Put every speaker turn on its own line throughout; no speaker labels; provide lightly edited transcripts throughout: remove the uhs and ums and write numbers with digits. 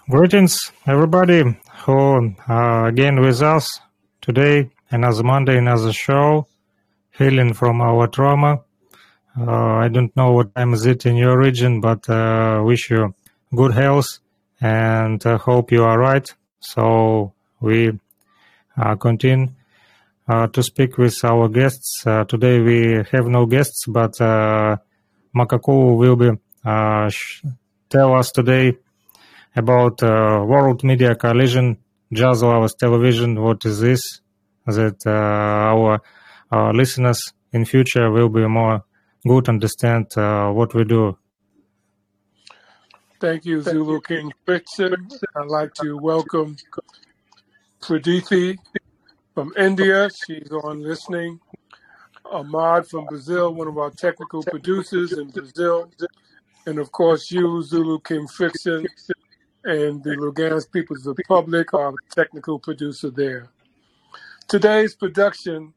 Greetings, everybody who again with us today. Another Monday, another show, healing from our trauma. I don't know what time is it in your region, but wish you good health and hope you are right. So we continue to speak with our guests. Today we have no guests, but Makaku will be tell us today about World Media Coalition, Jazz Lovers Television. What is this? That our listeners in future will be more good understand what we do.
Thank you, Zulu King Frickson. I'd like to welcome Pradeepi from India. She's on listening. Ahmad from Brazil, one of our technical producers in Brazil. And of course, you, Zulu King Frickson, and the Lugansk People's Republic, our technical producer there. Today's production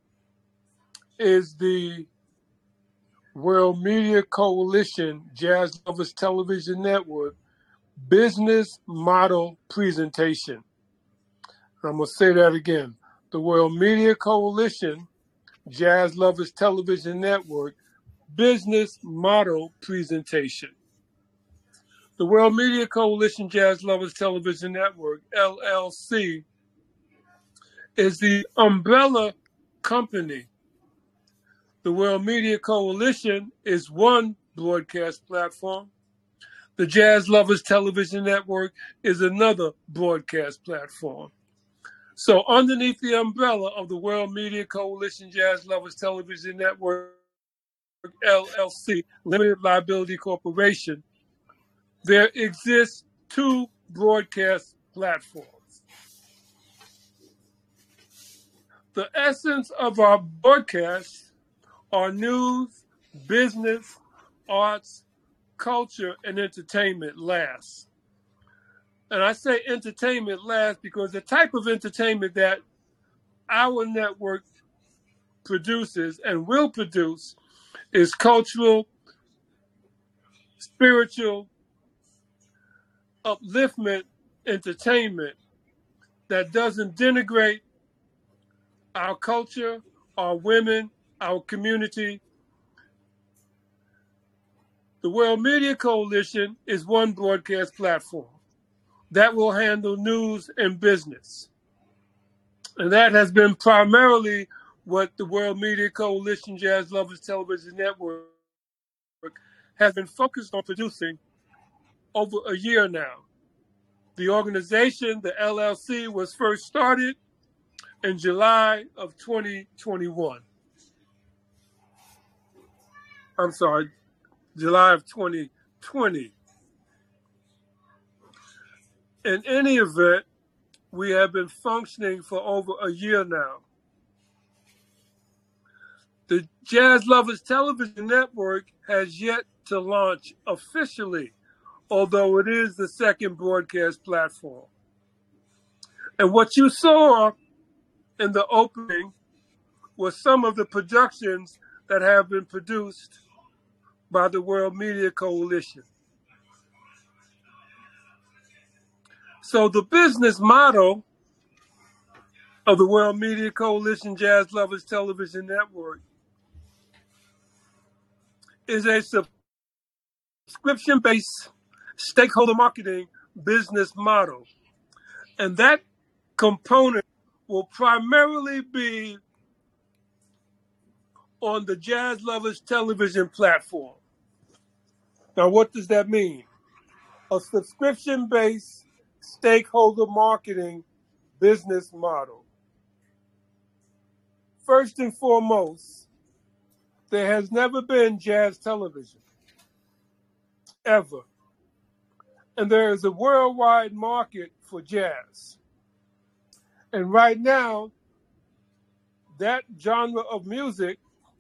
is the World Media Coalition Jazz Lovers Television Network business model presentation. I'm going to say that again. The World Media Coalition Jazz Lovers Television Network business model presentation. The World Media Coalition Jazz Lovers Television Network, LLC, is the umbrella company. The World Media Coalition is one broadcast platform. The Jazz Lovers Television Network is another broadcast platform. So underneath the umbrella of the World Media Coalition Jazz Lovers Television Network, LLC, Limited Liability Corporation, there exists two broadcast platforms. The essence of our broadcasts are news, business, arts, culture, and entertainment last. And I say entertainment last because the type of entertainment that our network produces and will produce is cultural, spiritual, upliftment entertainment that doesn't denigrate our culture, our women, our community. The World Media Coalition is one broadcast platform that will handle news and business. And that has been primarily what the World Media Coalition Jazz Lovers Television Network has been focused on producing over a year now. The organization, the LLC, was first started in July of 2021. I'm sorry, July of 2020. In any event, we have been functioning for over a year now. The Jazz Lovers Television Network has yet to launch officially, although it is the second broadcast platform. And what you saw in the opening was some of the productions that have been produced by the World Media Coalition. So the business model of the World Media Coalition Jazz Lovers Television Network is a subscription-based stakeholder marketing business model. And that component will primarily be on the Jazz Lovers Television platform. Now, what does that mean? A subscription-based stakeholder marketing business model. First and foremost, there has never been jazz television, ever. And there is a worldwide market for jazz. And right now, that genre of music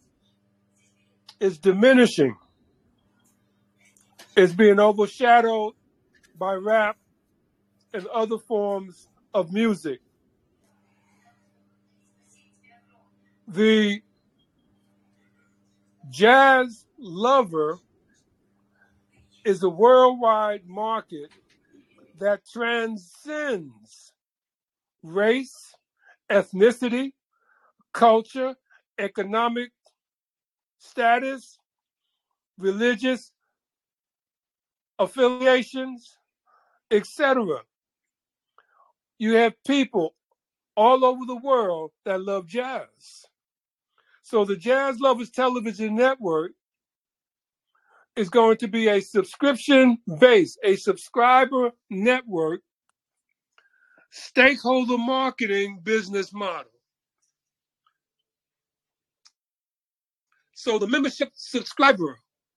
is diminishing. It's being overshadowed by rap and other forms of music. The jazz lover is a worldwide market that transcends race, ethnicity, culture, economic status, religious affiliations, etc. You have people all over the world that love jazz. So the Jazz Lovers Television Network is going to be a subscription-based, a subscriber network, stakeholder marketing business model. So the membership subscriber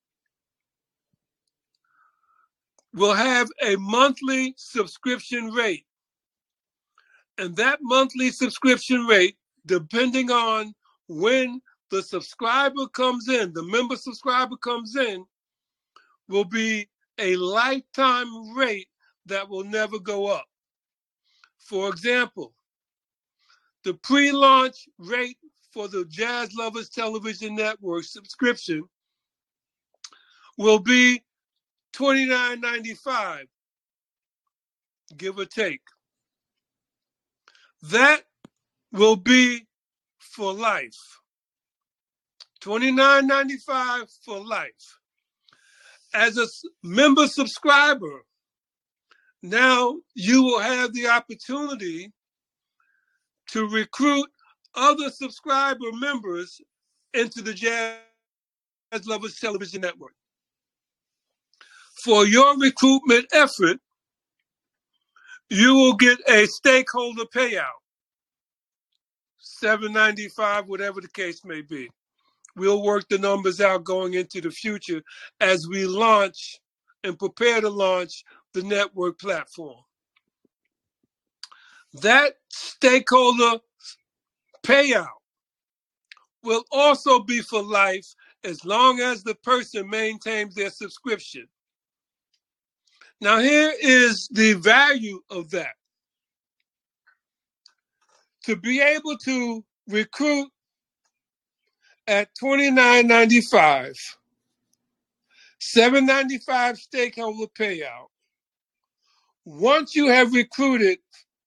will have a monthly subscription rate. And that monthly subscription rate, depending on when the subscriber comes in, the member subscriber comes in, will be a lifetime rate that will never go up. For example, the pre-launch rate for the Jazz Lovers Television Network subscription will be $29.95, give or take. That will be for life. $29.95 for life. As a member subscriber, now you will have the opportunity to recruit other subscriber members into the Jazz Lovers Television Network. For your recruitment effort, you will get a stakeholder payout, $7.95, whatever the case may be. We'll work the numbers out going into the future as we launch and prepare to launch the network platform. That stakeholder payout will also be for life as long as the person maintains their subscription. Now, here is the value of that. To be able to recruit at $29.95, $7.95 stakeholder payout. Once you have recruited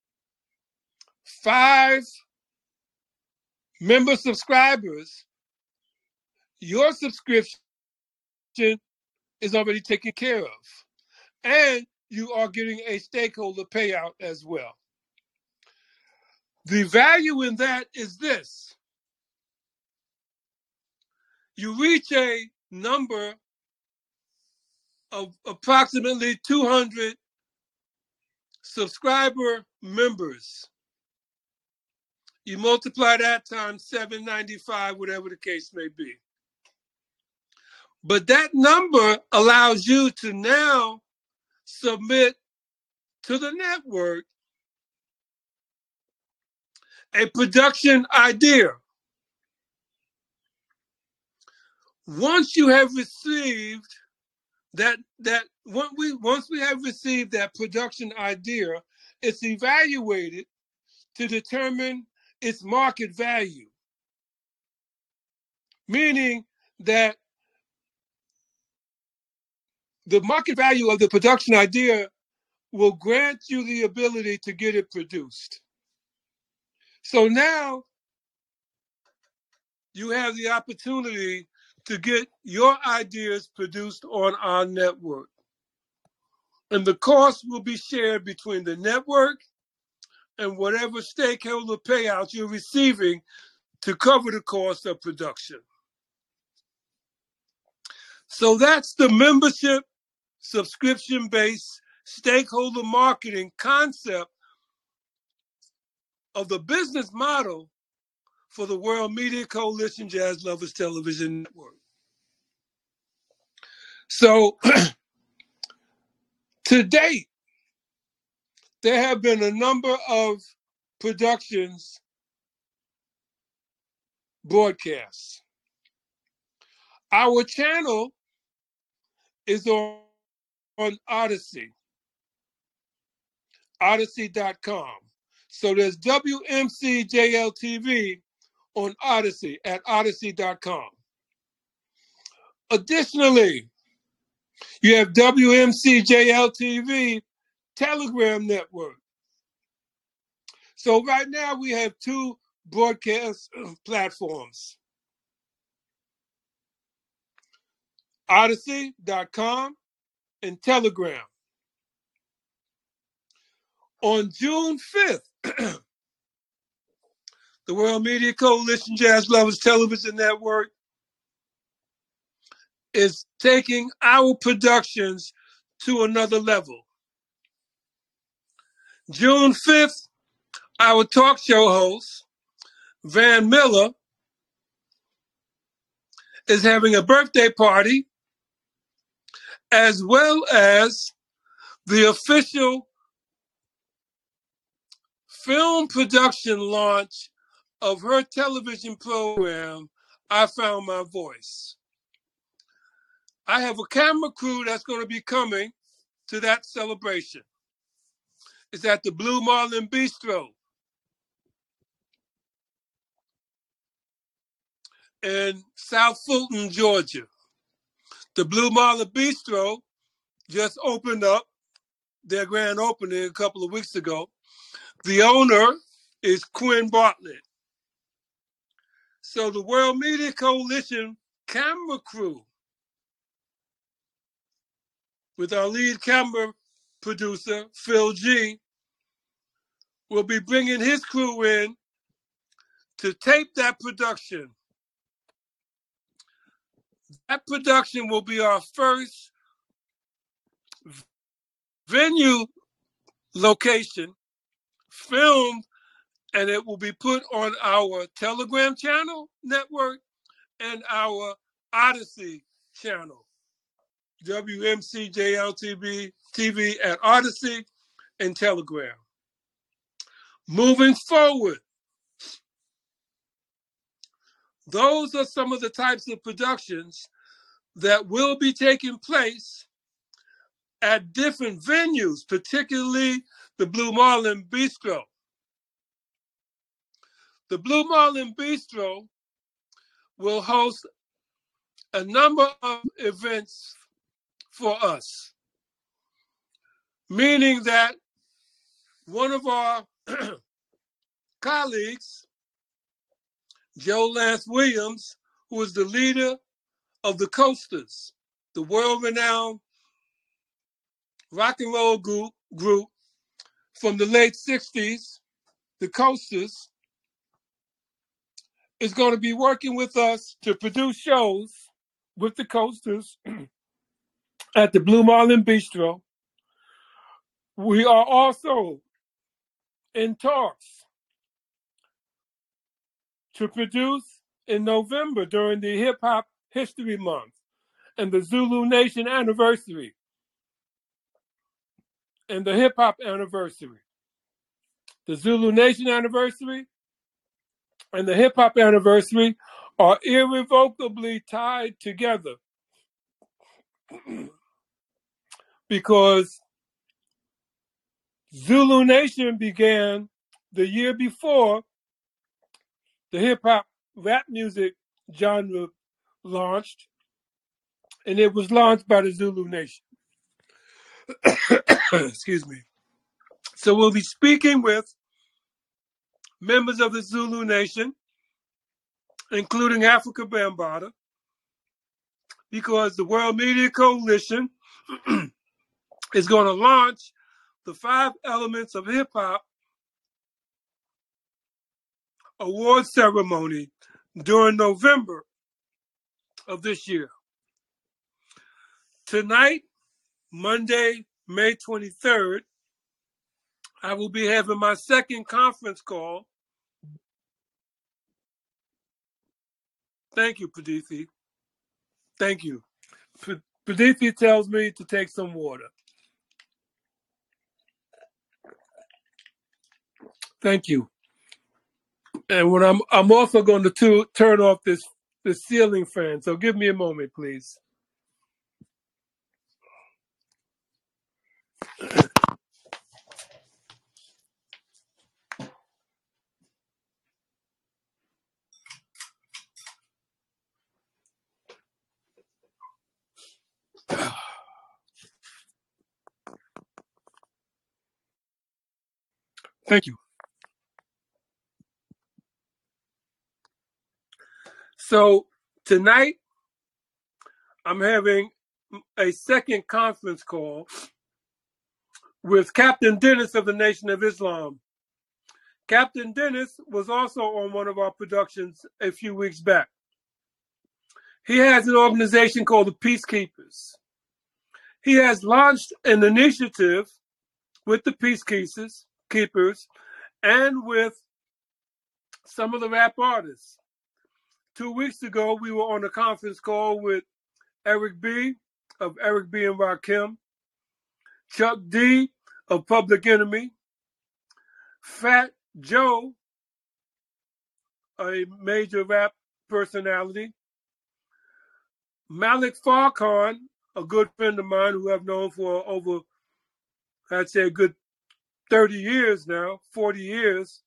5 member subscribers, your subscription is already taken care of. And you are getting a stakeholder payout as well. The value in that is this. You reach a number of approximately 200 subscriber members. You multiply that times $7.95, whatever the case may be. But that number allows you to now submit to the network a production idea. Once you have received once we have received that production idea, it's evaluated to determine its market value. Meaning that the market value of the production idea will grant you the ability to get it produced. So now you have the opportunity to get your ideas produced on our network. And the cost will be shared between the network and whatever stakeholder payouts you're receiving to cover the cost of production. So that's the membership subscription-based stakeholder marketing concept of the business model for the World Media Coalition Jazz Lovers Television Network. So to date, there have been a number of productions, broadcasts. Our channel is on Odyssey, odyssey.com. So there's WMCJL-TV on Odyssey at odyssey.com. Additionally, you have WMCJL-TV Telegram network. So right now we have two broadcast platforms. Odyssey.com and Telegram. On June 5th, the World Media Coalition Jazz Lovers Television Network is taking our productions to another level. June 5th, our talk show host, Van Miller, is having a birthday party, as well as the official film production launch of her television program, I Found My Voice. I have a camera crew that's going to be coming to that celebration. It's at the Blue Marlin Bistro in South Fulton, Georgia. The Blue Marlin Bistro just opened up their grand opening a couple of weeks ago. The owner is Quinn Bartlett. So the World Media Coalition camera crew, with our lead camera producer, Phil G, will be bringing his crew in to tape that production. That production will be our first venue location filmed, and it will be put on our Telegram channel network and our Odyssey channel, WMCJLTV TV at Odyssey and Telegram. Moving forward, those are some of the types of productions that will be taking place at different venues, particularly the Blue Marlin Bistro. The Blue Marlin Bistro will host a number of events for us, meaning that one of our colleagues, Joe Lance Williams, who is the leader of the Coasters, the world-renowned rock and roll group from the late 60s, the Coasters, is going to be working with us to produce shows with the Coasters at the Blue Marlin Bistro. We are also in talks to produce in November during the Hip Hop History Month and the Zulu Nation anniversary and the Hip Hop anniversary. The Zulu Nation anniversary and the Hip Hop anniversary are irrevocably tied together because Zulu Nation began the year before the hip hop rap music genre launched, and it was launched by the Zulu Nation. Excuse me. So we'll be speaking with members of the Zulu Nation, including Africa Bambaataa, because the World Media Coalition is going to launch the 5 Elements of Hip Hop award ceremony during November of this year. Tonight, Monday, May 23rd, I will be having my second conference call. Thank you, Padithi. Thank you. Padithi tells me to take some water. Thank you. And when I'm also going to turn off this ceiling fan. So give me a moment, please. Thank you. So tonight, I'm having a second conference call with Captain Dennis of the Nation of Islam. Captain Dennis was also on one of our productions a few weeks back. He has an organization called the Peacekeepers. He has launched an initiative with the Peacekeepers and with some of the rap artists. 2 weeks ago, we were on a conference call with Eric B. of Eric B. and Rakim, Chuck D. of Public Enemy, Fat Joe, a major rap personality, Malik Farrakhan, a good friend of mine who I've known for over, I'd say a good 30 years now, 40 years.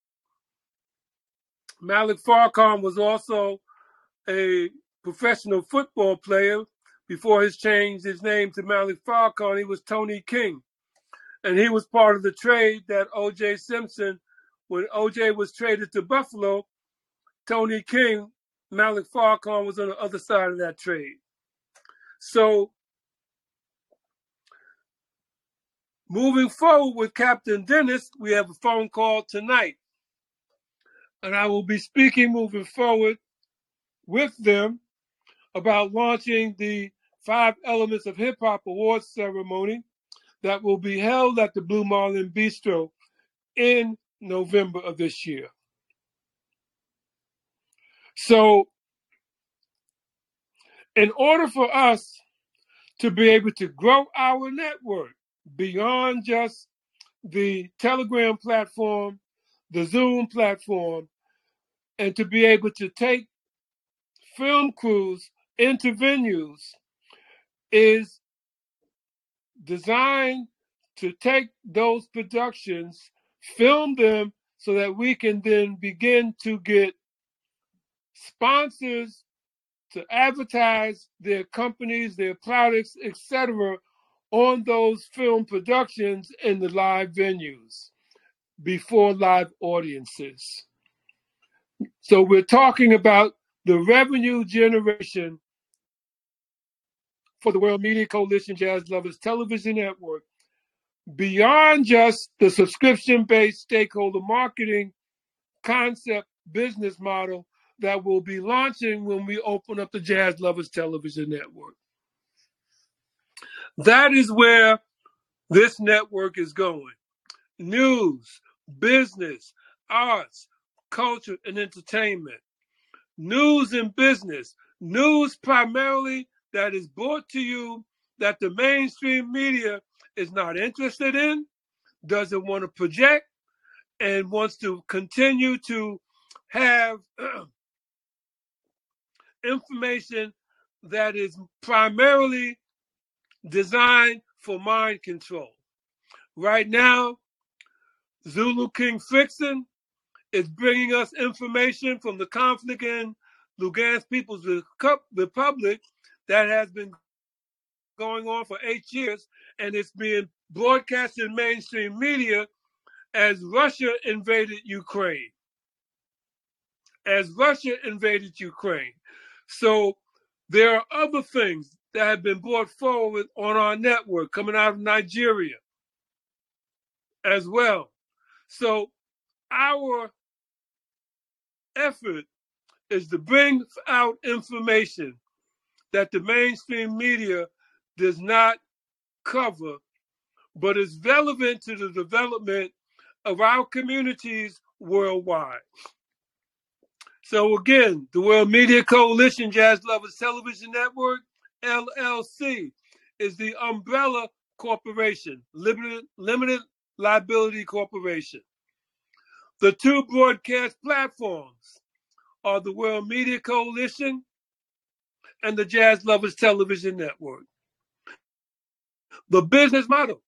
Malik Farrakhan was also a professional football player. Before he changed his name to Malik Farrakhan, he was Tony King. And he was part of the trade that O.J. Simpson, when O.J. was traded to Buffalo, Tony King, Malik Farrakhan was on the other side of that trade. So moving forward with Captain Dennis, we have a phone call tonight. And I will be speaking moving forward with them about launching the 5 Elements of Hip Hop Awards ceremony that will be held at the Blue Marlin Bistro in November of this year. So in order for us to be able to grow our network beyond just the Telegram platform, the Zoom platform, and to be able to take film crews into venues is designed to take those productions, film them so that we can then begin to get sponsors to advertise their companies, their products, etc., on those film productions in the live venues before live audiences. So we're talking about the revenue generation for the World Media Coalition Jazz Lovers Television Network beyond just the subscription-based stakeholder marketing concept business model that will be launching when we open up the Jazz Lovers Television Network. That is where this network is going. News, business, arts, culture, and entertainment. News and business. News primarily that is brought to you that the mainstream media is not interested in, doesn't want to project, and wants to continue to have information that is primarily designed for mind control. Right now, Zulu King Frickson is bringing us information from the conflict in Lugansk People's Republic that has been going on for 8 years, and it's being broadcast in mainstream media as Russia invaded Ukraine. So there are other things that have been brought forward on our network coming out of Nigeria as well. So our effort is to bring out information that the mainstream media does not cover, but is relevant to the development of our communities worldwide. So again, the World Media Coalition Jazz Lovers Television Network, LLC, is the umbrella corporation, limited liability corporation. The 2 broadcast platforms are the World Media Coalition and the Jazz Lovers Television Network. The business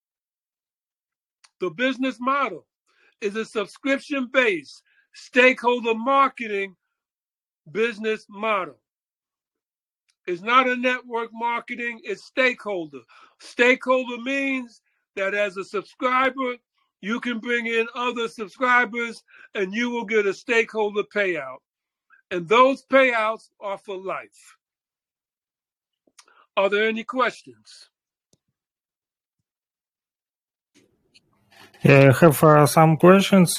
model is a subscription-based stakeholder marketing business model. It's not a network marketing, it's stakeholder. Stakeholder means that as a subscriber, you can bring in other subscribers and you will get a stakeholder payout. And those payouts are for life. Are there any questions?
Yeah, I have some questions.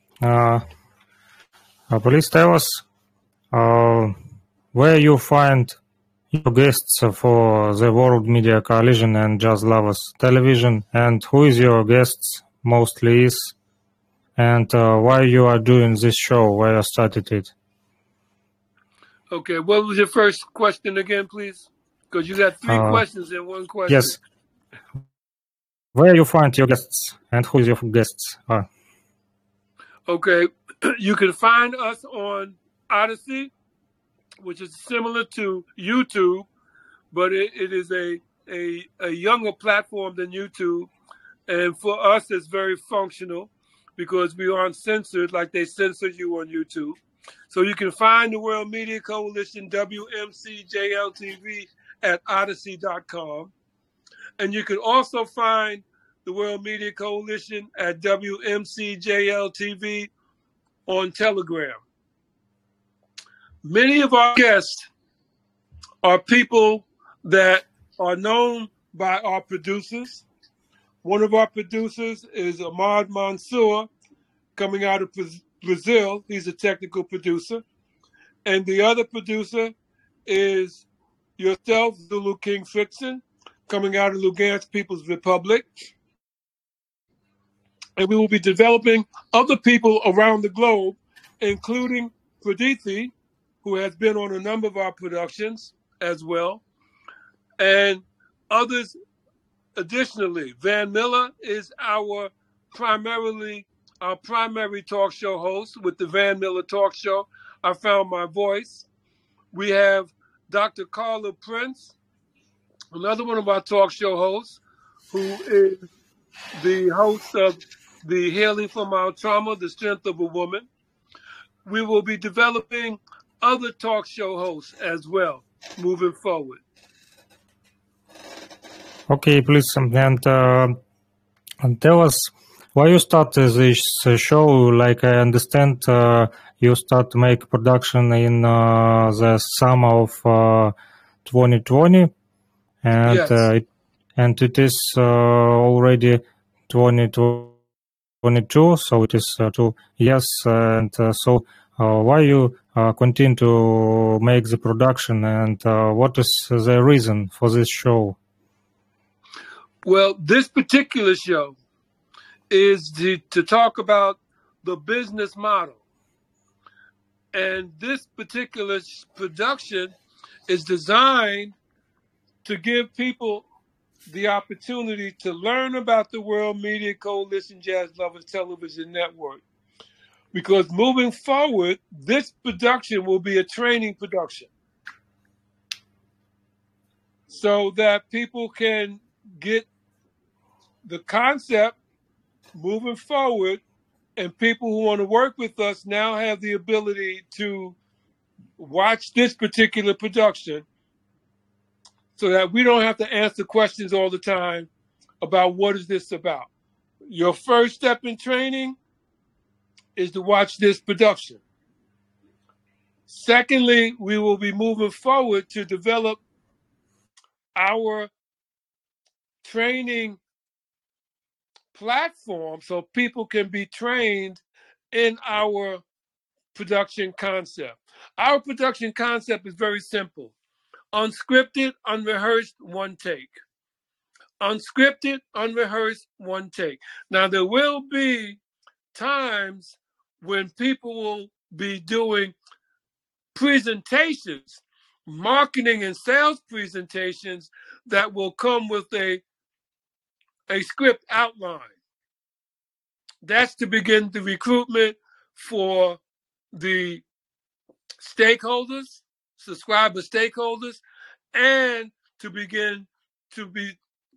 Please tell us where you find your guests for the World Media Coalition and Jazz Lovers Television, and who is your guests mostly is, and why you are doing this show, why you started it.
Okay, what was your first question again, please? Because you got three questions in one question.
Yes. Where you find your guests, and who is your guests are.
Okay, you can find us on Odyssey, which is similar to YouTube, but it is a younger platform than YouTube. And for us, it's very functional because we aren't censored like they censor you on YouTube. So you can find the World Media Coalition, WMCJLTV, at Odyssey.com. And you can also find the World Media Coalition at WMCJLTV on Telegram. Many of our guests are people that are known by our producers. One of our producers is Ahmad Mansour, coming out of Brazil. He's a technical producer. And the other producer is yourself, Zulu King Fritzen, coming out of Lugansk People's Republic. And we will be developing other people around the globe, including Pradeethi, who has been on a number of our productions as well, and others additionally. Van Miller is our primary talk show host with the Van Miller Talk Show. I Found My Voice. We have Dr. Carla Prince, another one of our talk show hosts, who is the host of the Healing from Our Trauma, The Strength of a Woman. We will be developing other talk show hosts as well moving forward.
Okay, please, and tell us why you started this show. Like I understand, you start to make production in the summer of 2020, and
Yes.
It is already 2022, so it is 2 years. And so, why you continue to make the production, and what is the reason for this show?
Well, this particular show is to talk about the business model. And this particular production is designed to give people the opportunity to learn about the World Media Coalition Jazz Lovers Television Network. Because moving forward, this production will be a training production, so that people can get the concept moving forward, and people who want to work with us now have the ability to watch this particular production, so that we don't have to answer questions all the time about what is this about. Your first step in training is to watch this production. Secondly, we will be moving forward to develop our training platform so people can be trained in our production concept. Our production concept is very simple. Unscripted, unrehearsed, one take. Unscripted, unrehearsed, one take. Now, there will be times when people will be doing presentations, marketing and sales presentations that will come with a script outline. That's to begin the recruitment for the stakeholders, subscriber stakeholders, and to begin to be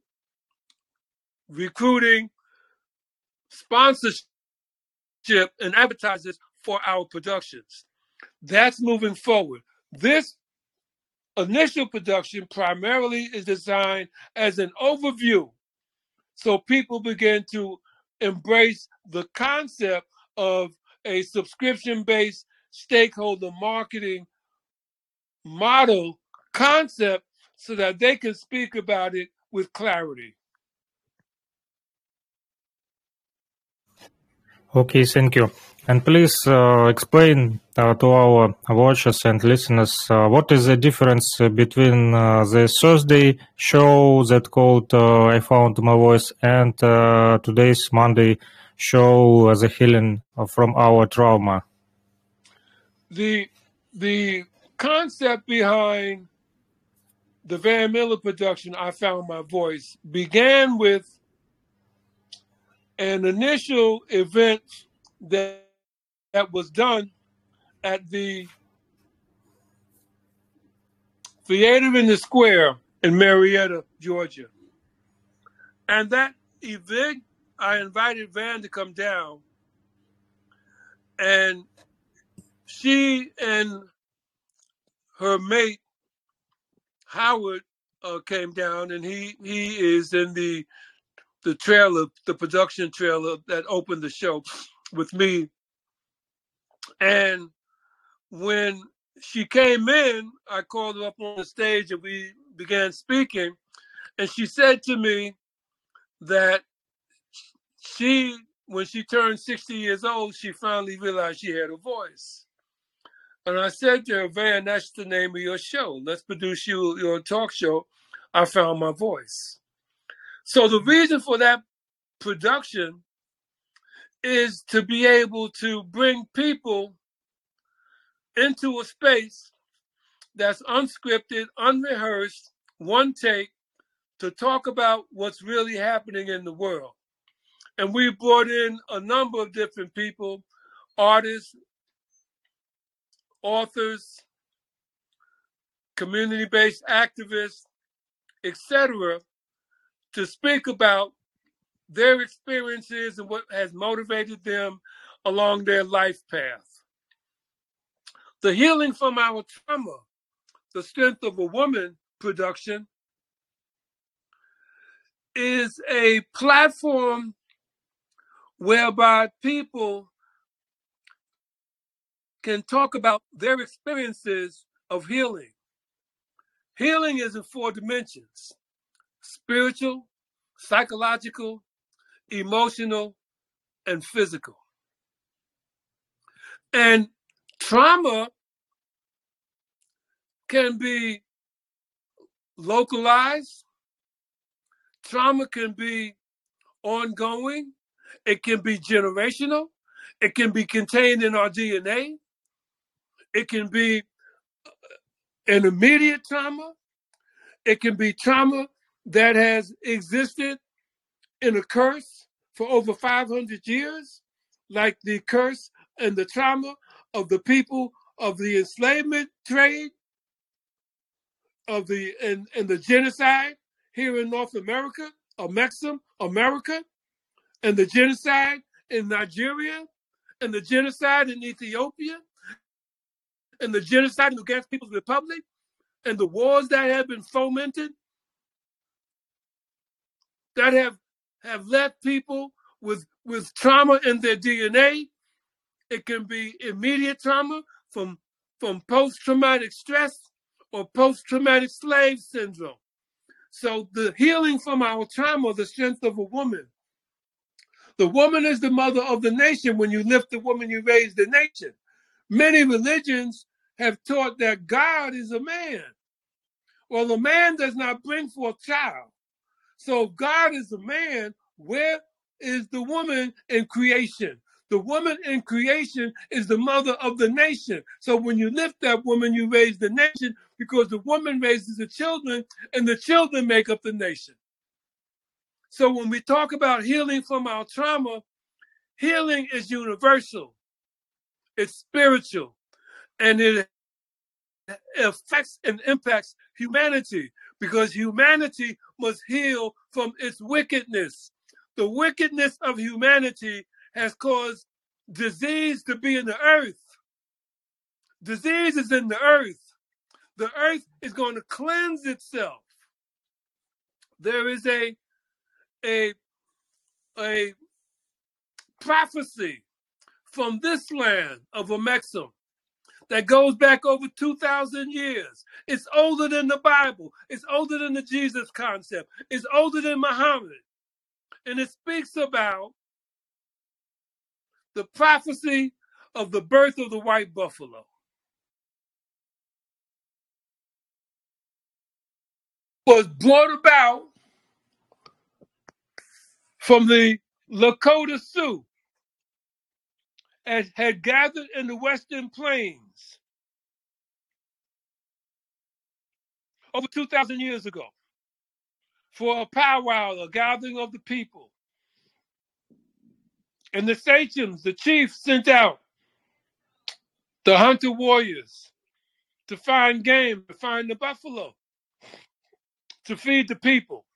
recruiting sponsorship and advertisers for our productions. That's moving forward. This initial production primarily is designed as an overview, so people begin to embrace the concept of a subscription-based stakeholder marketing model concept so that they can speak about it with clarity.
Okay, thank you. And please explain to our watchers and listeners what is the difference between the Thursday show that called I Found My Voice and today's Monday show, The Healing from Our Trauma.
The concept behind the Van Miller production, I Found My Voice, began with an initial event that was done at the Theater in the Square in Marietta, Georgia. And that event, I invited Van to come down, and she and her mate, Howard, came down, and he is in the trailer, the production trailer that opened the show with me. And when she came in, I called her up on the stage and we began speaking. And she said to me that when she turned 60 years old, she finally realized she had a voice. And I said to her, Van, that's the name of your show. Let's produce your talk show. I Found My Voice. So the reason for that production is to be able to bring people into a space that's unscripted, unrehearsed, one take, to talk about what's really happening in the world. And we brought in a number of different people, artists, authors, community-based activists, etc., to speak about their experiences and what has motivated them along their life path. The Healing from Our Trauma, The Strength of a Woman production is a platform whereby people can talk about their experiences of healing. Healing is in 4 dimensions: spiritual, psychological, emotional, and physical. And trauma can be localized. Trauma can be ongoing. It can be generational. It can be contained in our DNA. It can be an immediate trauma. It can be trauma that has existed in a curse for over 500 years, like the curse and the trauma of the people of the enslavement trade, of the and the genocide here in North America, or Mesoamerica, and the genocide in Nigeria, and the genocide in Ethiopia, and the genocide in the Against People's Republic, and the wars that have been fomented that have left people with trauma in their DNA. It can be immediate trauma from post-traumatic stress or post-traumatic slave syndrome. So the healing from our trauma, the strength of a woman. The woman is the mother of the nation. When you lift the woman, you raise the nation. Many religions have taught that God is a man. Well, a man does not bring forth child. So if God is a man, where is the woman in creation? The woman in creation is the mother of the nation. So when you lift that woman, you raise the nation, because the woman raises the children and the children make up the nation. So when we talk about healing from our trauma, healing is universal. It's spiritual, and it affects and impacts humanity, because humanity must heal from its wickedness. The wickedness of humanity has caused disease to be in the earth. Disease is in the earth. The earth is going to cleanse itself. There is a prophecy from this land of Amexem that goes back over 2,000 years. It's older than the Bible. It's older than the Jesus concept. It's older than Muhammad. And it speaks about the prophecy of the birth of the white buffalo. Was brought about from the Lakota Sioux and had gathered in the Western Plains over 2,000 years ago for a powwow, a gathering of the people. And the sachems, the chiefs, sent out the hunter warriors to find game, to find the buffalo, to feed the people.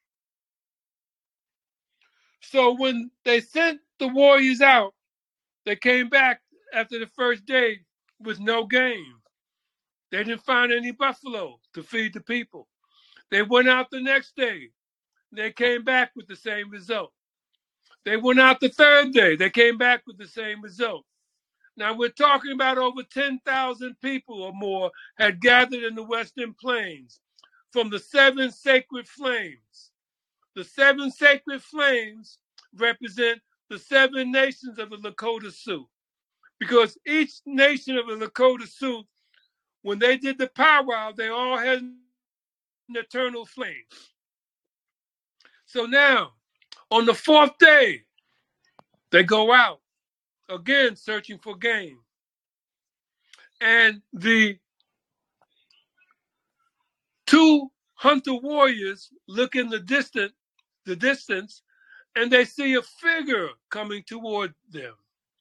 So when they sent the warriors out, they came back after the first day with no game. They didn't find any buffalo to feed the people. They went out the next day. They came back with the same result. They went out the third day. They came back with the same result. Now we're talking about over 10,000 people or more had gathered in the Western Plains from the 7 sacred flames. The 7 sacred flames represent the 7 nations of the Lakota Sioux. Because each nation of the Lakota Sioux, when they did the powwow, they all had an eternal flame. So now, on the 4th day, they go out, again searching for game. And the 2 hunter warriors look in the distance, and they see a figure coming toward them.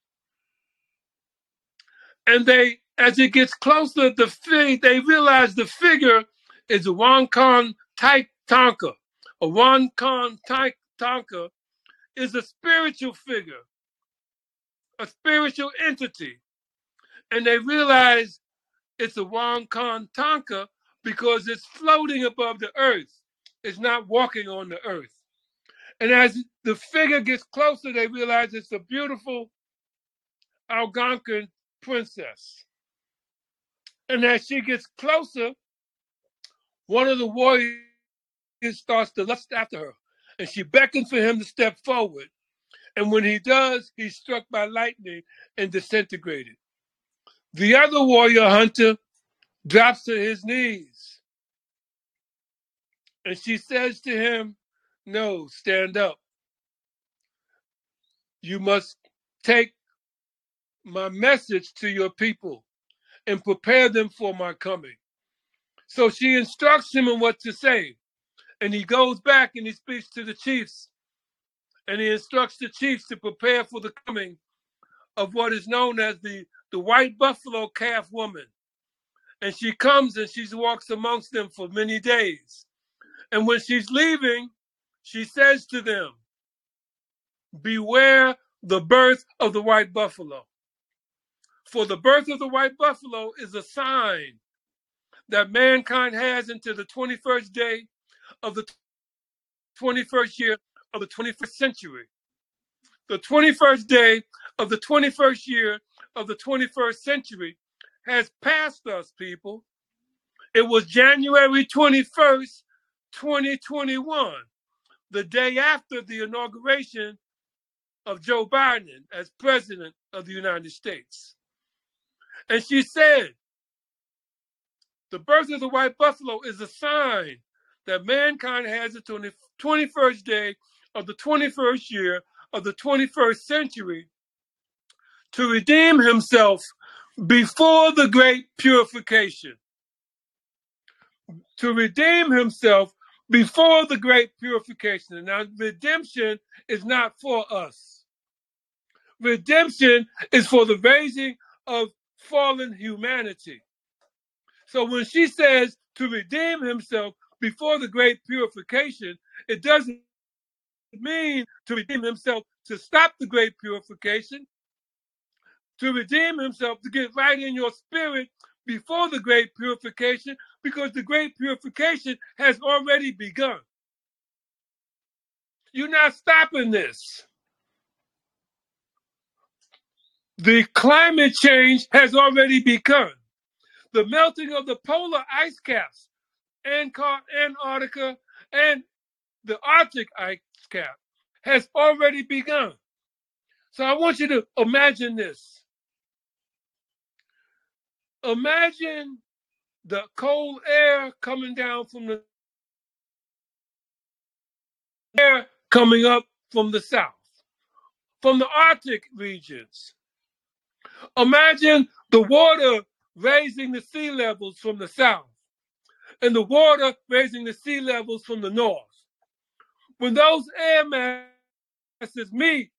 And they, as it gets closer, they realize the figure is a Wankan Tonka. A Wankan Tonka is a spiritual figure, a spiritual entity. And they realize it's a Wankan Tonka because it's floating above the earth. It's not walking on the earth. And as the figure gets closer, they realize it's a beautiful Algonquin princess. And as she gets closer, one of the warriors starts to lust after her. And she beckons for him to step forward. And when he does, he's struck by lightning and disintegrated. The other warrior hunter drops to his knees. And she says to him, "No, stand up. You must take my message to your people and prepare them for my coming." So she instructs him on what to say. And he goes back and he speaks to the chiefs. And he instructs the chiefs to prepare for the coming of what is known as the white buffalo calf woman. And she comes and she walks amongst them for many days. And when she's leaving, she says to them, "Beware the birth of the white buffalo. For the birth of the white buffalo is a sign that mankind has until the 21st day of the 21st year of the 21st century. The 21st day of the 21st year of the 21st century has passed us, people. It was January 21st, 2021, the day after the inauguration of Joe Biden as president of the United States." And she said, the birth of the white buffalo is a sign that mankind has until the 21st day of the 21st year of the 21st century to redeem himself before the great purification. To redeem himself before the great purification. Now, redemption is not for us. Redemption is for the raising of fallen humanity. So when she says to redeem himself before the great purification, it doesn't mean to redeem himself to stop the great purification. To redeem himself, to get right in your spirit before the great purification, because the great purification has already begun. You're not stopping this. The climate change has already begun. The melting of the polar ice caps, Antarctica, and the Arctic ice cap has already begun. So I want you to imagine this. Imagine the cold air coming down from the air coming up from the south, from the Arctic regions. Imagine the water raising the sea levels from the south and the water raising the sea levels from the north. When those air masses meet,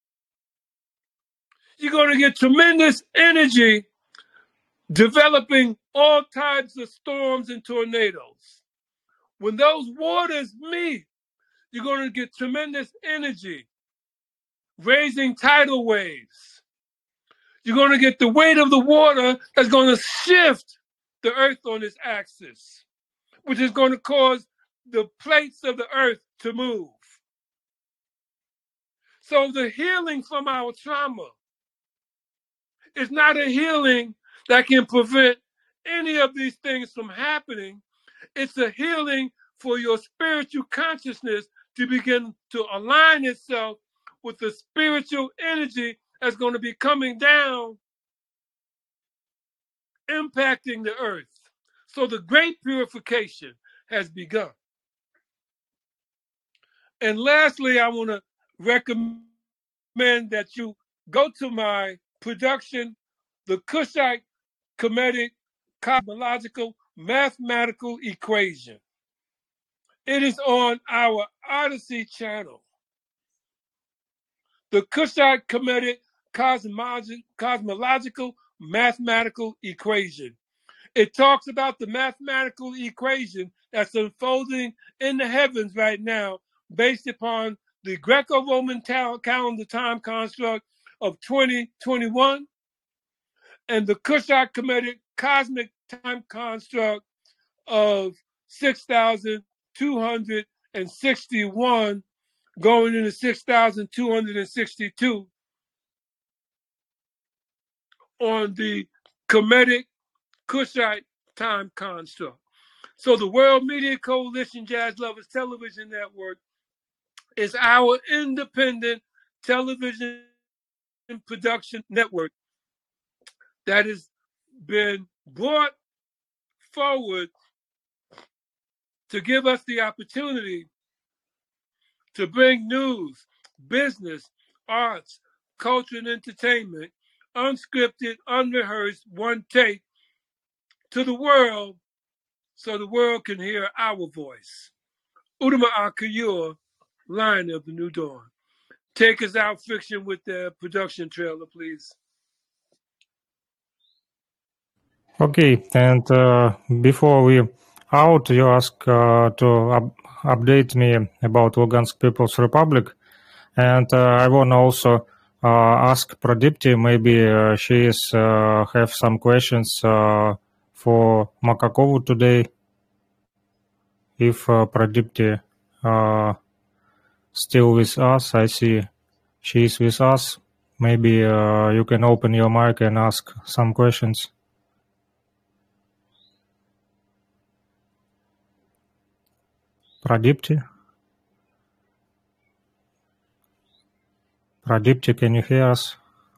you're going to get tremendous energy developing all types of storms and tornadoes. When those waters meet, you're going to get tremendous energy raising tidal waves. You're going to get the weight of the water that's going to shift the earth on its axis, which is going to cause the plates of the earth to move. So the healing from our trauma is not a healing that can prevent any of these things from happening. It's a healing for your spiritual consciousness to begin to align itself with the spiritual energy that's going to be coming down, impacting the earth. So the great purification has begun. And lastly, I want to recommend that you go to my production, The Kushite Kemetic Cosmological Mathematical Equation. It is on our Odyssey channel. The Kushite Kemetic Cosmological Mathematical Equation. It talks about the mathematical equation that's unfolding in the heavens right now based upon the Greco-Roman calendar time construct of 2021 and the Kushite Kemetic cosmic time construct of 6,261 going into 6,262 on the Kemetic Kushite time construct. So the World Media Coalition Jazz Lovers Television Network is our independent television production network that has been brought forward to give us the opportunity to bring news, business, arts, culture, and entertainment, unscripted, unrehearsed, one take, to the world so the world can hear our voice. Udama Akayur, Lion of the New Dawn. Take us out, Fiction, with the production trailer, please.
Okay, and before we out, you ask to update me about Lugansk People's Republic, and I want to also ask Pradipti, maybe she is have some questions for Makakovu today. If Pradipti still with us, I see she is with us. Maybe you can open your mic and ask some questions. Pradipti? Pradipti, can you hear us?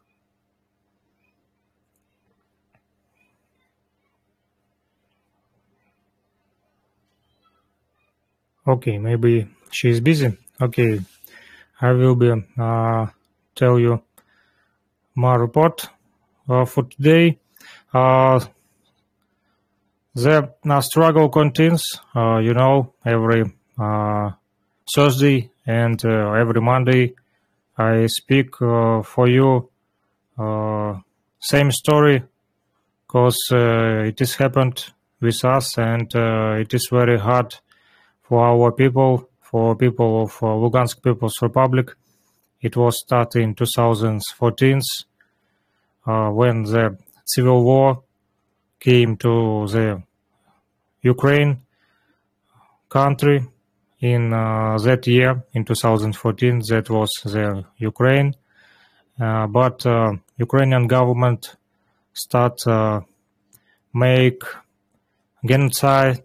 Okay, maybe she is busy. Okay, I will be tell you my report for today. The struggle continues, every Thursday and every Monday I speak for you same story, because it has happened with us, and it is very hard for our people, for people of Lugansk People's Republic. It was started in 2014 when the civil war came to the Ukraine country. In that year, in 2014, that was the Ukraine. But Ukrainian government start make genocide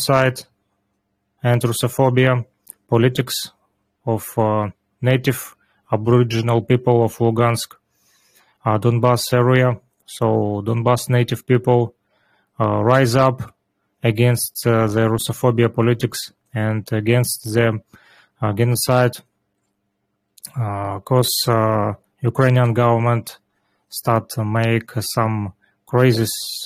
and Russophobia politics of native Aboriginal people of Lugansk, Donbas area. So Donbas native people rise up against the Russophobia politics and against the genocide, because Ukrainian government start to make some crazy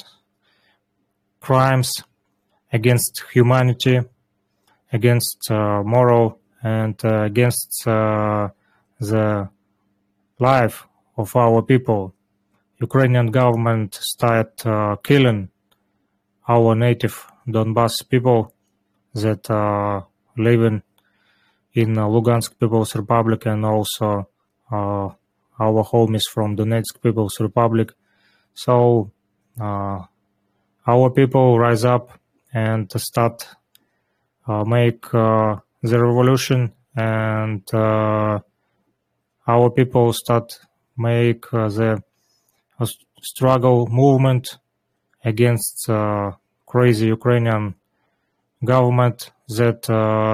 crimes against humanity, against moral, and against the life of our people. Ukrainian government start killing our native Donbas people that living in Lugansk People's Republic, and also our homies from Donetsk People's Republic. So our people rise up and start make the revolution, and our people start make the struggle movement against crazy Ukrainian government that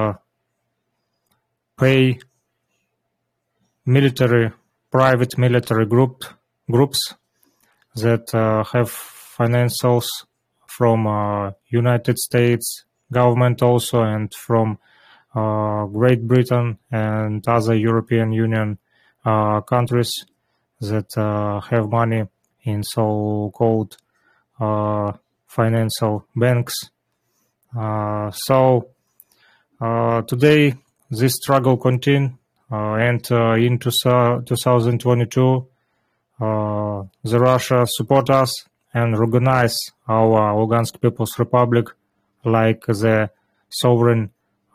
pay private military groups that have financials from United States government also, and from Great Britain and other European Union countries that have money in so-called financial banks. So today this struggle continues, and in 2022 the Russia support us and recognize our Lugansk People's Republic like the sovereign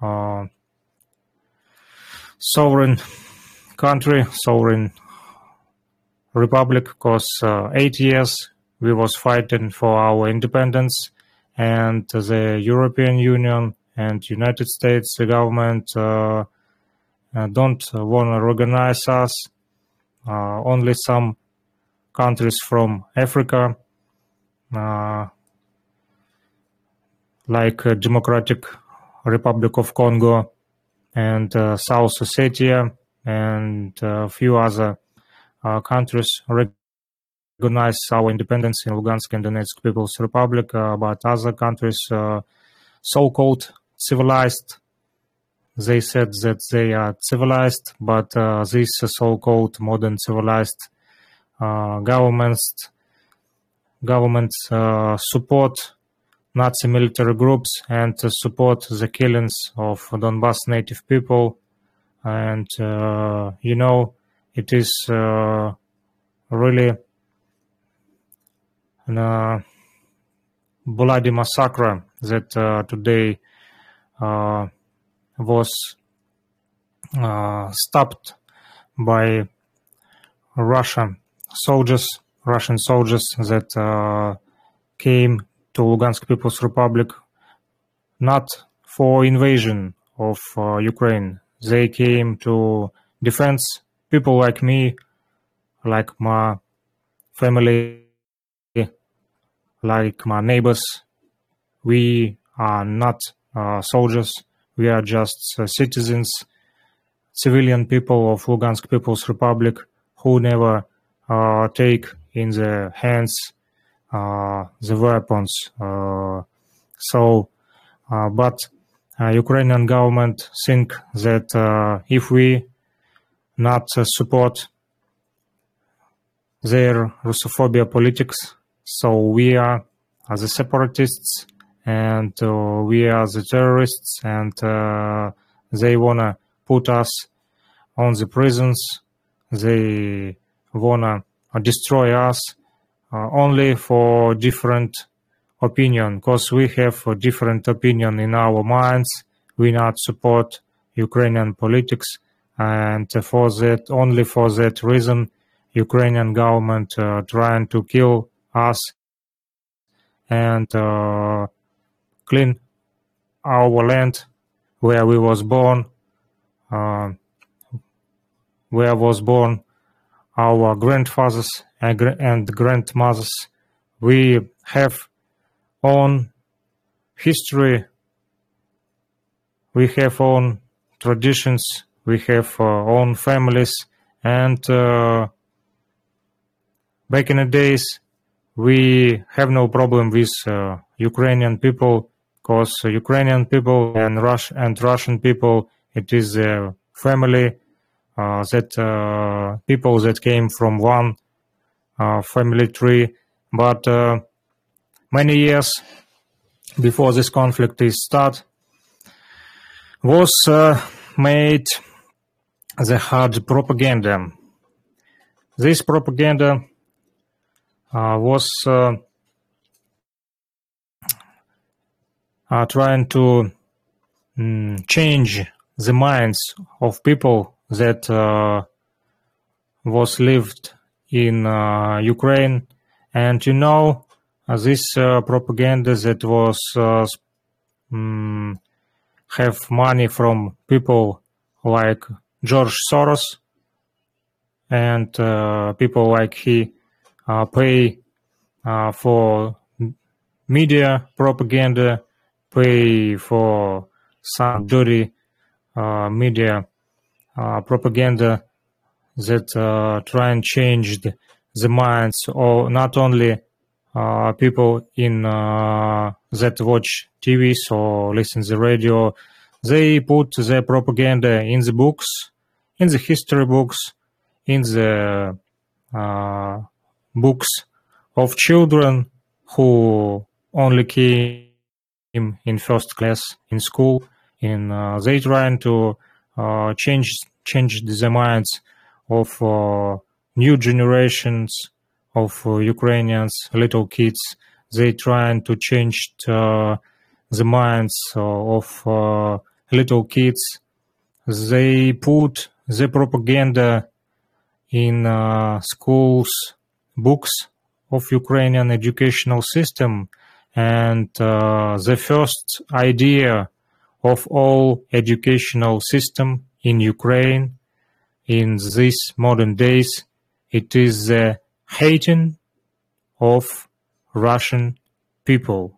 country, sovereign republic, because 8 years we was fighting for our independence, and the European Union and United States government don't want to recognize us. Only some countries from Africa, like Democratic Republic of Congo and South Ossetia and a few other countries recognize our independence in Lugansk and Donetsk People's Republic, but other countries, so-called civilized, they said that they are civilized, but these so-called modern civilized governments support Nazi military groups and support the killings of Donbas native people. And it is really a bloody massacre that today was stopped by Russian soldiers that came to Lugansk People's Republic not for invasion of Ukraine. They came to defend people like me, like my family, like my neighbors. We are not soldiers. We are just citizens, civilian people of Lugansk People's Republic who never take in their hands the weapons. But Ukrainian government think that if we not support their Russophobia politics, so we are the separatists and we are the terrorists, and they wanna put us on the prisons. They wanna destroy us only for different opinion, because we have a different opinion in our minds. We not support Ukrainian politics, and only for that reason, Ukrainian government trying to kill us and clean our land where we was born, our grandfathers and grandmothers. We have own history, we have own traditions, we have own families, and back in the days we have no problem with Ukrainian people, because Ukrainian people and Russian people, it is a family, that people that came from one family tree. But many years before this conflict is start, was made the hard propaganda. This propaganda was trying to change the minds of people that was lived in Ukraine. And this propaganda that was have money from people like George Soros, and people like he pay for media propaganda, pay for some dirty media propaganda that try and change the minds of not only people in that watch TVs or listen to the radio. They put the propaganda in the books, in the history books, in the books of children who only came in first class in school. They trying to change the minds of new generations of Ukrainians, little kids. They trying to change the minds of little kids. They put the propaganda in schools, books of Ukrainian educational system, and the first idea of all educational system in Ukraine in these modern days, it is the hating of Russian people,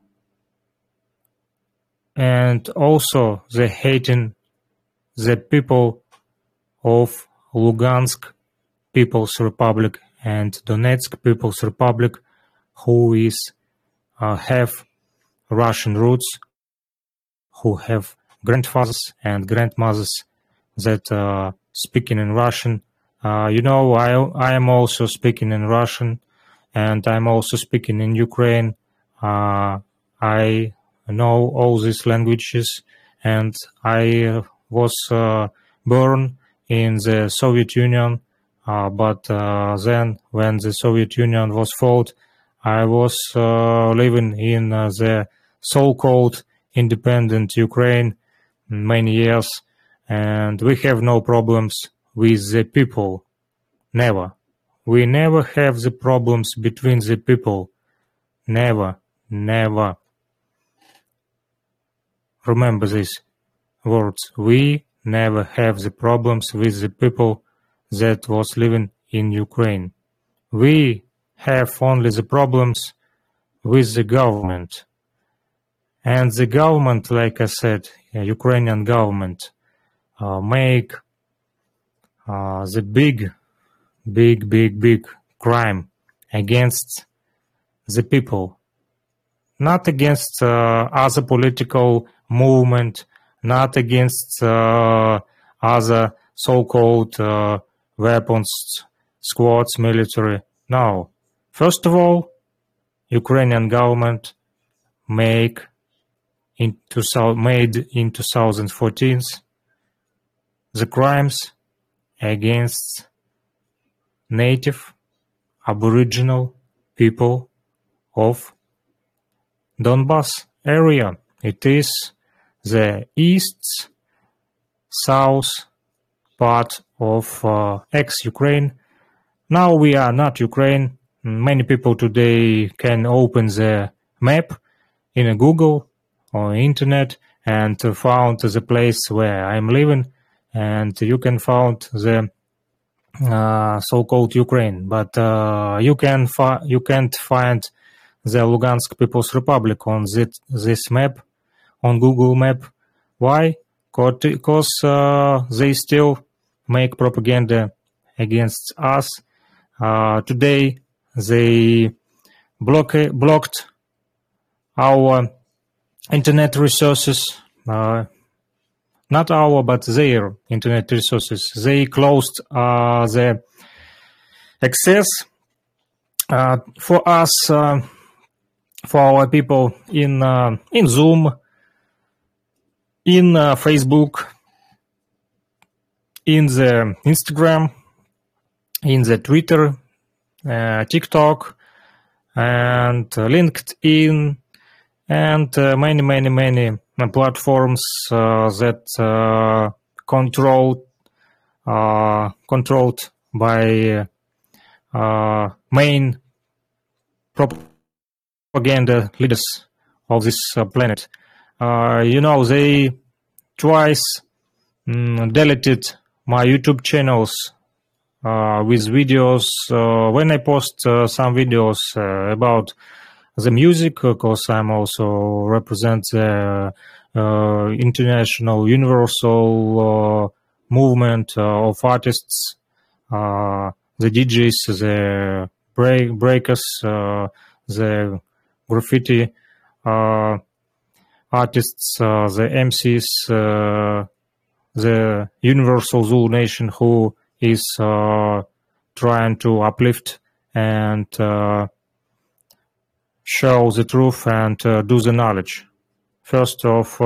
and also the hating the people of Lugansk People's Republic and Donetsk People's Republic, who is have Russian roots, who have grandfathers and grandmothers that speaking in Russian. I am also speaking in Russian, and I'm also speaking in Ukraine. I know all these languages, and I was born in the Soviet Union, but then when the Soviet Union was fought, I was living in the so-called independent Ukraine many years, and we have no problems with the people. Never. We never have the problems between the people. Never. Never. Remember these words. We never have the problems with the people that was living in Ukraine. We have only the problems with the government. And the government, like I said, Ukrainian government, make the big crime against the people. Not against other political movement, not against other so-called weapons squads, military. No. First of all, Ukrainian government made in 2014 the crimes against native aboriginal people of Donbas area. It is the east south part of ex-Ukraine. Now we are not Ukraine. Many people today can open the map in a Google or internet and found the place where I'm living, and you can find the so-called Ukraine, but you can't find the Lugansk People's Republic on this map, on Google Map. Why? Because they still make propaganda against us. Today they blocked our internet resources, not our, but their internet resources. They closed the access for us, for our people in Zoom, in Facebook, in the Instagram, in the Twitter, TikTok, and LinkedIn, and many platforms that controlled by main propaganda leaders of this planet. They twice deleted my YouTube channels with videos. When I post some videos about the music, because I'm also represent the international universal movement of artists, the DJs, the breakers, the graffiti artists, the MCs, the universal Zulu nation who is trying to uplift and show the truth and do the knowledge. First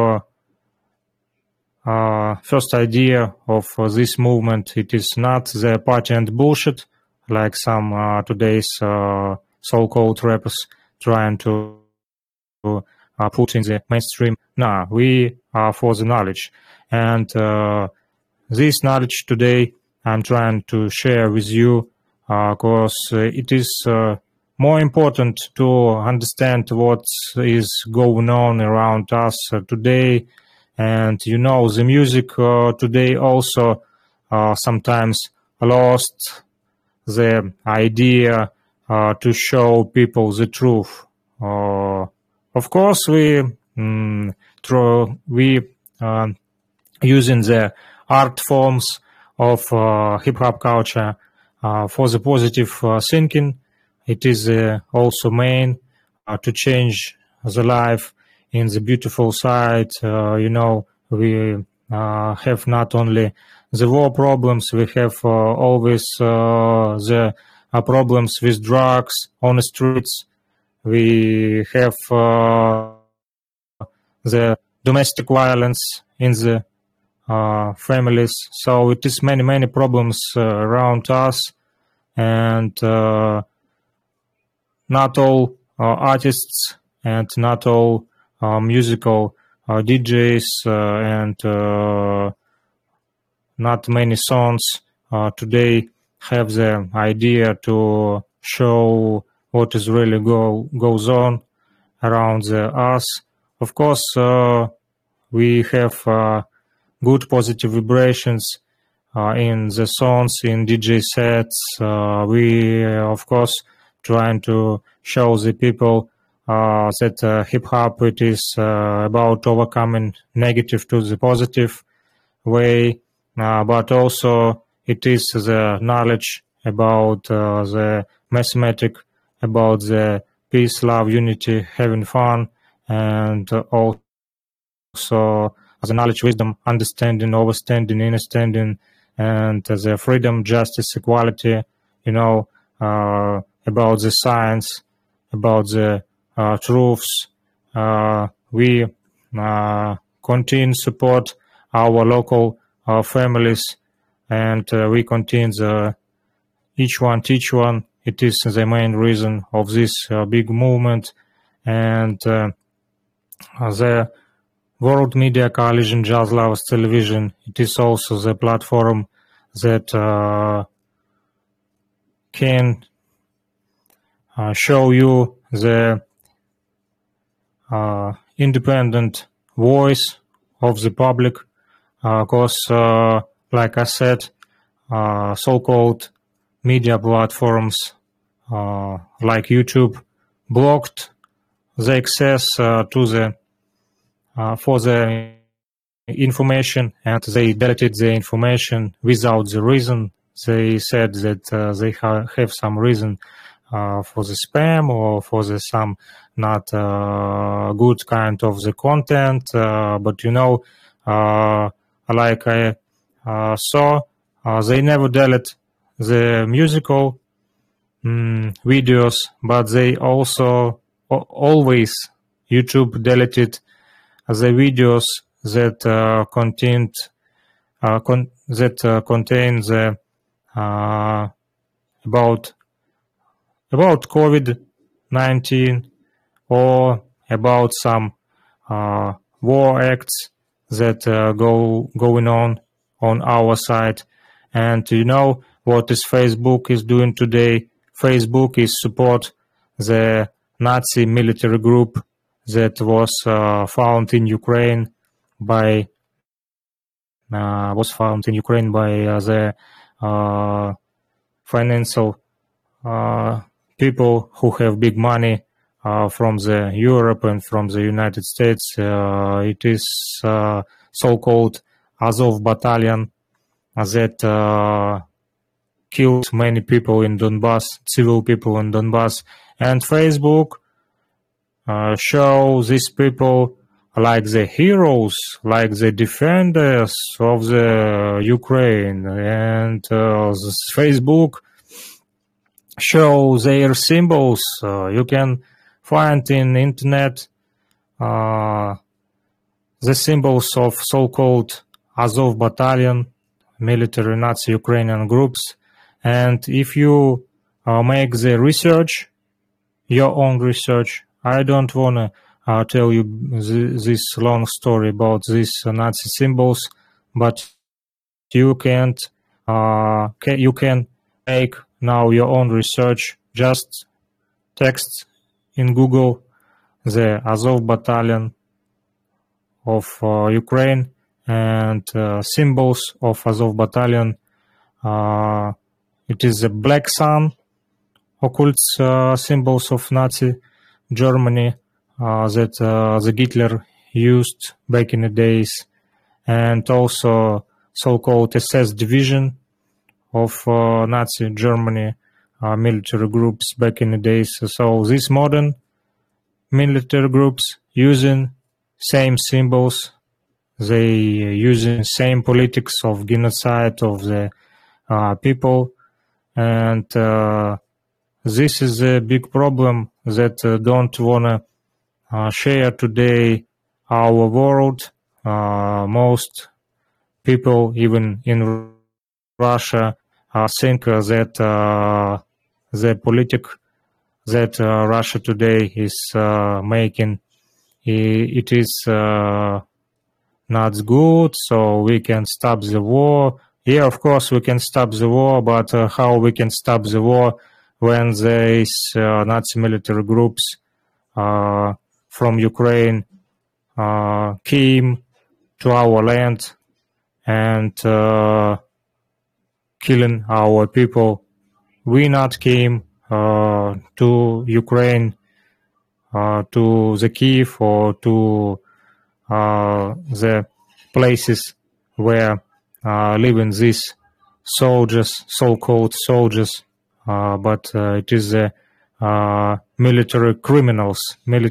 idea of this movement, it is not the party and bullshit like some today's so-called rappers trying to put in the mainstream. No, we are for the knowledge, and this knowledge today I'm trying to share with you because it is more important to understand what is going on around us today. And the music today also sometimes lost the idea to show people the truth. Of course, we using the art forms of hip-hop culture for the positive thinking. It is also main to change the life in the beautiful side. We have not only the war problems, we have always the problems with drugs on the streets. We have the domestic violence in the families. So it is many problems around us, and not all artists and not all musical DJs and not many songs today have the idea to show what is really goes on around us. Of course, we have good positive vibrations in the songs, in DJ sets. We, of course, trying to show the people that hip-hop, it is about overcoming negative to the positive way, but also it is the knowledge about the mathematic, about the peace, love, unity, having fun, and also the knowledge, wisdom, understanding, overstanding, understanding, and the freedom, justice, equality, about the science, about the truths. We continue support our local families, and we continue each one teach one. It is the main reason of this big movement, and the World Media Coalition Jazz Lovers Television, it is also the platform that can show you the independent voice of the public, because like I said, so-called media platforms like YouTube blocked the access to the for the information, and they deleted the information without the reason. They said that they have some reason for the spam or for the some not good kind of the content, but like I saw, they never delete the musical videos, but they also always YouTube deleted the videos that contain the about COVID-19 or about some war acts that going on our side. And what is Facebook is doing today? Facebook is support the Nazi military group that was found in Ukraine by the financial people who have big money from the Europe and from the United States. It is so-called Azov battalion that killed many people in Donbass, civil people in Donbass. And Facebook show these people like the heroes, like the defenders of the Ukraine. And Facebook show their symbols. You can find in internet the symbols of so-called Azov battalion, military Nazi Ukrainian groups. And if you make the research, your own research, I don't want to tell you this long story about these Nazi symbols, but you can make now your own research. Just text in Google the Azov battalion of Ukraine and symbols of Azov battalion. It is the black sun, occult symbols of Nazi Germany that the Hitler used back in the days, and also so-called SS division of Nazi Germany military groups back in the days. So these modern military groups using same symbols, they using same politics of genocide of the people, and this is a big problem that don't wanna share today our world. Most people, even in Russia, think that the politics that Russia today is making, it is not good, so we can stop the war. Yeah, of course we can stop the war, but how we can stop the war when these Nazi military groups from Ukraine came to our land and killing our people? We not came to Ukraine, to the Kiev or to the places where living these soldiers, so-called soldiers, but it is the military criminals.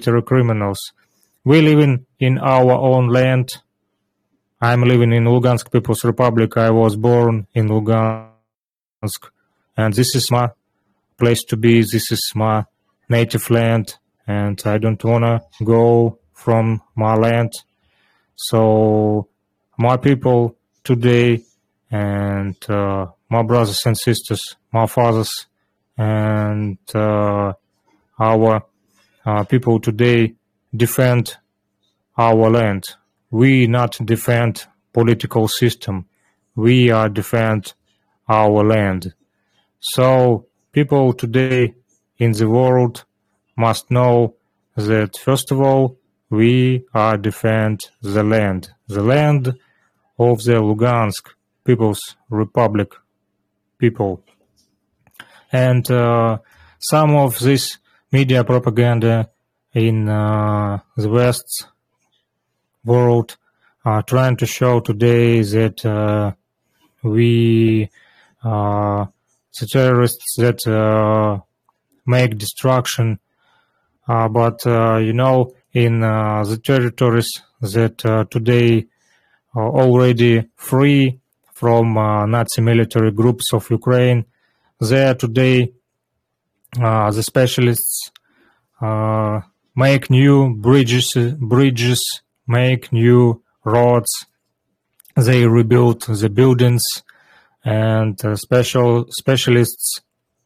We live in our own land. I'm living in Lugansk People's Republic. I was born in Lugansk, and this is my place to be. This is my native land, and I don't wanna go from my land. So my people today, and my brothers and sisters, my fathers, and our people today defend our land. We not defend political system. We are defend our land. So people today in the world must know that first of all, we are defend the land of the Lugansk People's Republic, people. And some of this media propaganda in the West world are trying to show today that we the terrorists that make destruction, but in the territories that today are already free from Nazi military groups of Ukraine, there today the specialists make new bridges, make new roads, they rebuild the buildings, and specialists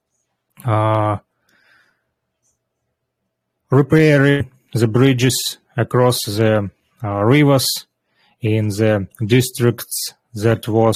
repairing the bridges across the rivers in the districts that was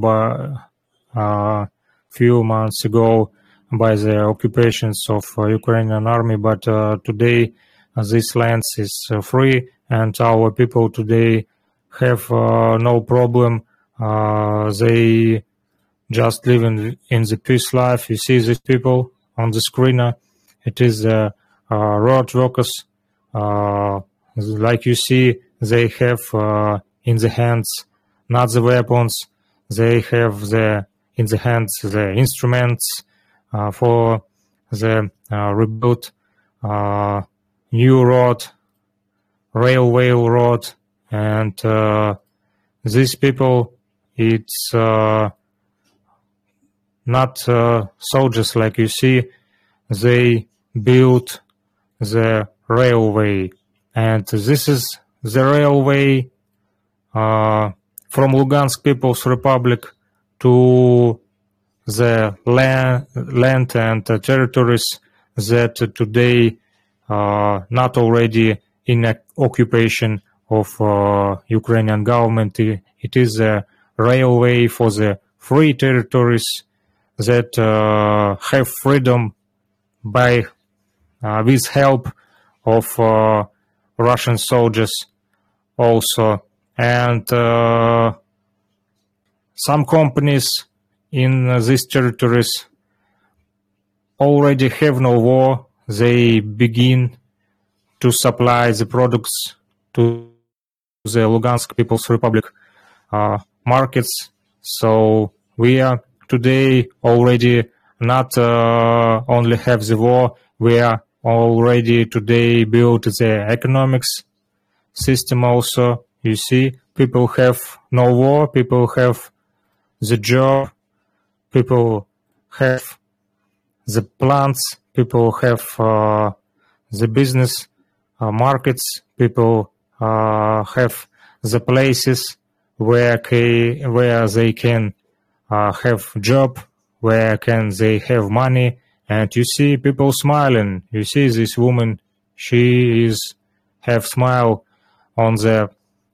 few months ago by the occupations of Ukrainian army, but today this land is free, and our people today have no problem. They just live in the peace life. You see these people on the screen. It is the road workers. Like you see, they have in the hands not the weapons. They have in the hands the instruments for the rebuilt new road, railway road, and these people, it's not soldiers like you see. They built the railway, and this is the railway from Lugansk People's Republic to the land and territories that today not already in occupation of Ukrainian government. It is a railway for the free territories that have freedom by with help of Russian soldiers also. And some companies in these territories already have no war. They begin to supply the products to the Lugansk People's Republic markets. So we are today already not only have the war, we are already today built the economics system also. You see, people have no war, people have the job, people have the plants, people have the business markets, people have the places where they can have job, where can they have money, and you see people smiling. You see this woman, she is have smile on the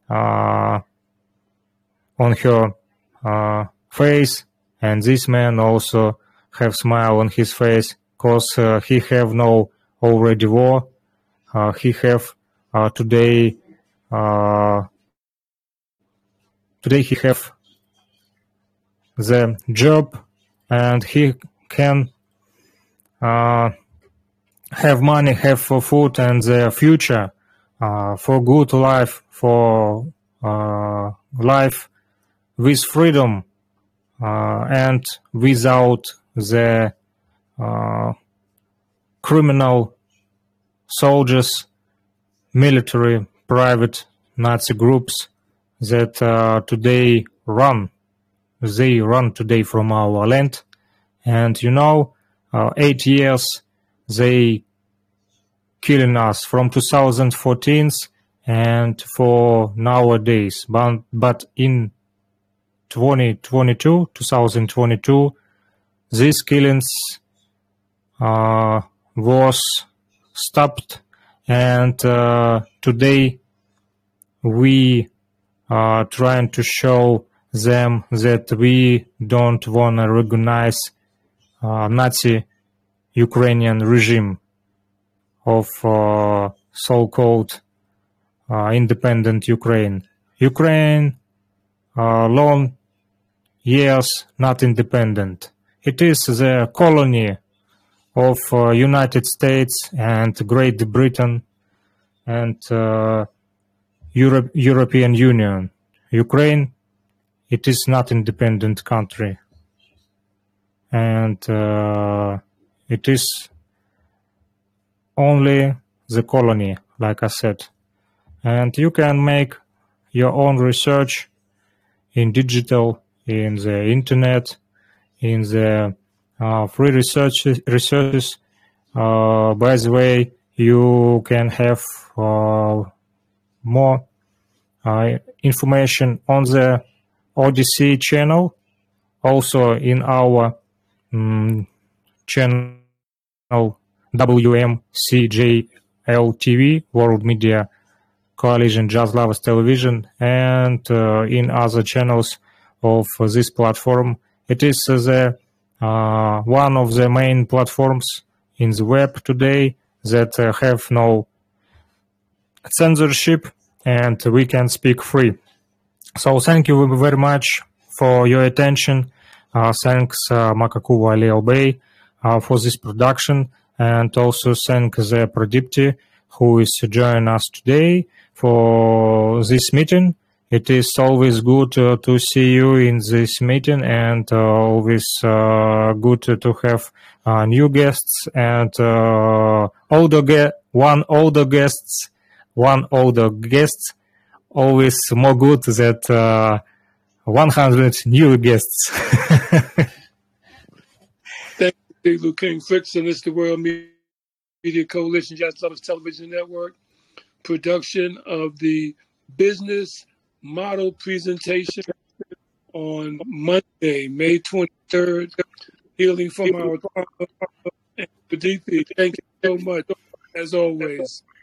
on her face, and this man also have smile on his face, cause he have no already war. He have today he have the job, and he can have money, have for food and the future, for good life, for life with freedom and without the criminal soldiers, military, private Nazi groups that today run. They run today from our land, and 8 years they killing us from 2014 and for nowadays. But in 2022, these killings was stopped, and today we are trying to show them that we don't want to recognize Nazi Ukrainian regime of so-called independent Ukraine. Ukraine long years not independent. it is the colony of United States and Great Britain and European Union. Ukraine, it is not independent country, and it is only the colony, like I said. And you can make your own research in digital, in the internet, in the free researches. By the way, you can have more information on the Odyssey channel, also in our channel WMCJL-TV, World Media Coalition Jazz Lovers Television, and in other channels of this platform. It is the one of the main platforms in the web today that have no censorship, and we can speak free. So thank you very much for your attention. Thanks Makakuwa Leo Bay for this production, and also thank the Pradipti who is joining us today for this meeting. It is always good to see you in this meeting, and always good to have new guests and one older guest. Always more good that 100 new guests.
Thank you, Luke King Frickson. It's the World Media Coalition Jazz Lovers Television Network production of the business model presentation on Monday, May 23rd, Healing from Our Trauma. Thank you so much, as always.